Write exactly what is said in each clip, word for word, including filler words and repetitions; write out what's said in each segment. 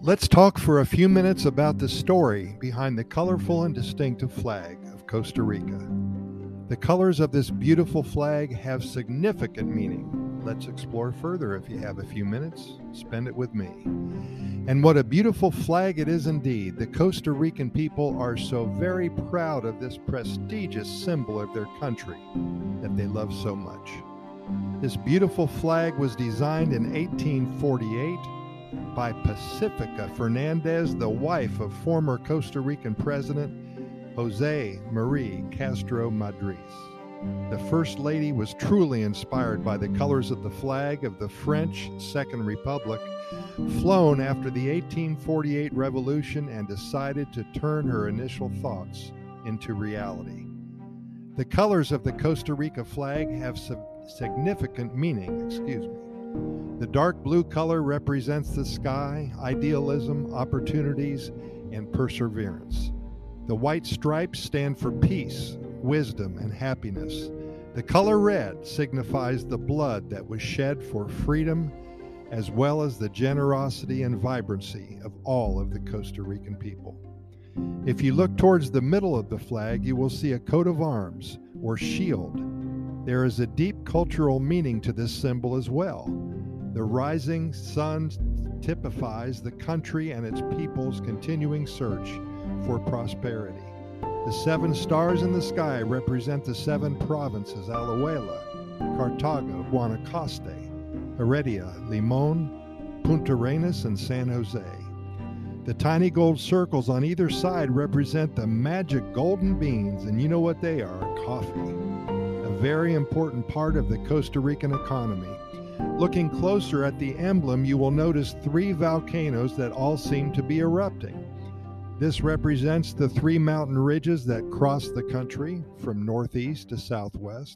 Let's talk for a few minutes about the story behind the colorful and distinctive flag of Costa Rica. The colors of this beautiful flag have significant meaning. Let's explore further if you have a few minutes. Spend it with me. And what a beautiful flag it is indeed. The Costa Rican people are so very proud of this prestigious symbol of their country that they love so much. This beautiful flag was designed in eighteen forty-eight by Pacifica Fernandez, the wife of former Costa Rican President Jose Marie Castro Madriz. The First Lady was truly inspired by the colors of the flag of the French Second Republic, flown after the eighteen forty-eight revolution, and decided to turn her initial thoughts into reality. The colors of the Costa Rica flag have significant meaning, excuse me. The dark blue color represents the sky, idealism, opportunities, and perseverance. The white stripes stand for peace, wisdom, and happiness. The color red signifies the blood that was shed for freedom, as well as the generosity and vibrancy of all of the Costa Rican people. If you look towards the middle of the flag, you will see a coat of arms, or shield. There is a deep cultural meaning to this symbol as well. The rising sun typifies the country and its people's continuing search for prosperity. The seven stars in the sky represent the seven provinces: Alajuela, Cartago, Guanacaste, Heredia, Limon, Punta Arenas, and San Jose. The tiny gold circles on either side represent the magic golden beans, and you know what they are: coffee. A very important part of the Costa Rican economy. Looking closer at the emblem, you will notice three volcanoes that all seem to be erupting. This represents the three mountain ridges that cross the country from northeast to southwest.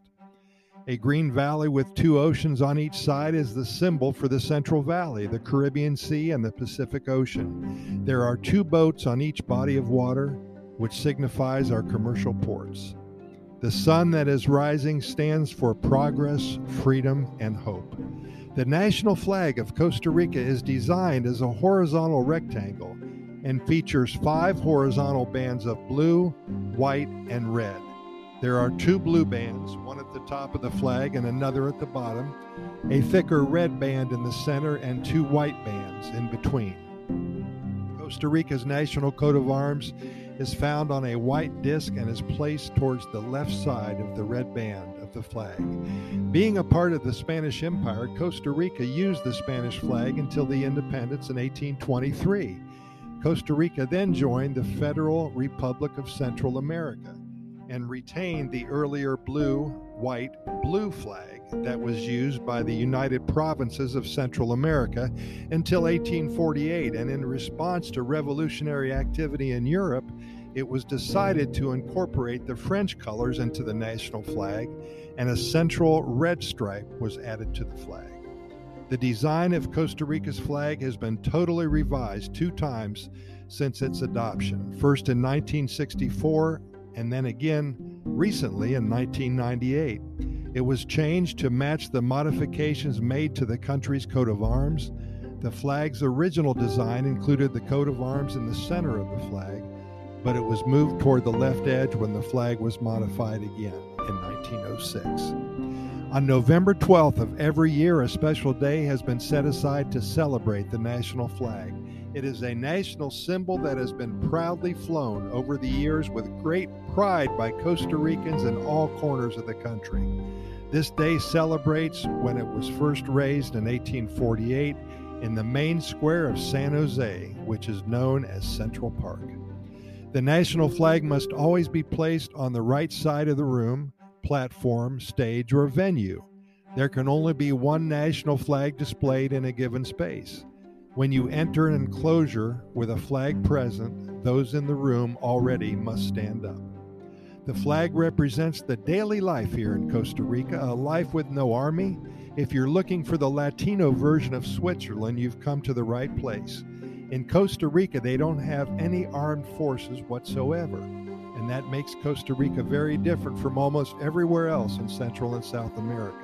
A green valley with two oceans on each side is the symbol for the Central Valley, the Caribbean Sea, and the Pacific Ocean. There are two boats on each body of water, which signifies our commercial ports. The sun that is rising stands for progress, freedom, and hope. The national flag of Costa Rica is designed as a horizontal rectangle and features five horizontal bands of blue, white, and red. There are two blue bands, one at the top of the flag and another at the bottom, a thicker red band in the center, and two white bands in between. Costa Rica's national coat of arms is found on a white disc and is placed towards the left side of the red band of the flag. Being a part of the Spanish Empire, Costa Rica used the Spanish flag until the independence in eighteen twenty-three. Costa Rica then joined the Federal Republic of Central America and retained the earlier blue, white, blue flag that was used by the United Provinces of Central America until eighteen forty-eight, and in response to revolutionary activity in Europe, it was decided to incorporate the French colors into the national flag, and a central red stripe was added to the flag. The design of Costa Rica's flag has been totally revised two times since its adoption, first in nineteen sixty-four and then again recently in nineteen ninety-eight. It was changed to match the modifications made to the country's coat of arms. The flag's original design included the coat of arms in the center of the flag, but it was moved toward the left edge when the flag was modified again in nineteen oh six. On November twelfth of every year, a special day has been set aside to celebrate the national flag. It is a national symbol that has been proudly flown over the years with great pride by Costa Ricans in all corners of the country. This day celebrates when it was first raised in eighteen forty-eight in the main square of San Jose, which is known as Central Park. The national flag must always be placed on the right side of the room, platform, stage, or venue. There can only be one national flag displayed in a given space. When you enter an enclosure with a flag present, those in the room already must stand up. The flag represents the daily life here in Costa Rica, a life with no army. If you're looking for the Latino version of Switzerland, you've come to the right place. In Costa Rica, they don't have any armed forces whatsoever, and that makes Costa Rica very different from almost everywhere else in Central and South America.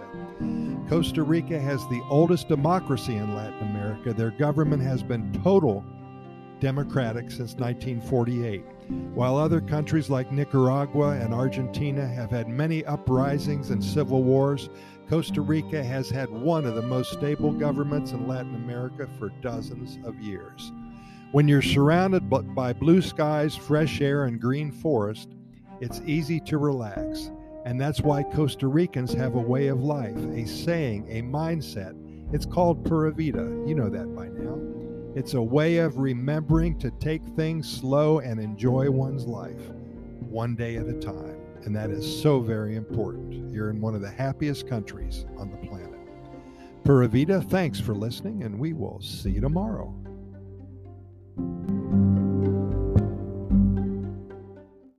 Costa Rica has the oldest democracy in Latin America. Their government has been total democratic since nineteen forty-eight. While other countries like Nicaragua and Argentina have had many uprisings and civil wars, Costa Rica has had one of the most stable governments in Latin America for dozens of years. When you're surrounded by blue skies, fresh air, and green forest, it's easy to relax. And that's why Costa Ricans have a way of life, a saying, a mindset. It's called Pura Vida. You know that by now. It's a way of remembering to take things slow and enjoy one's life, one day at a time. And that is so very important. You're in one of the happiest countries on the planet. Pura Vida, thanks for listening, and we will see you tomorrow.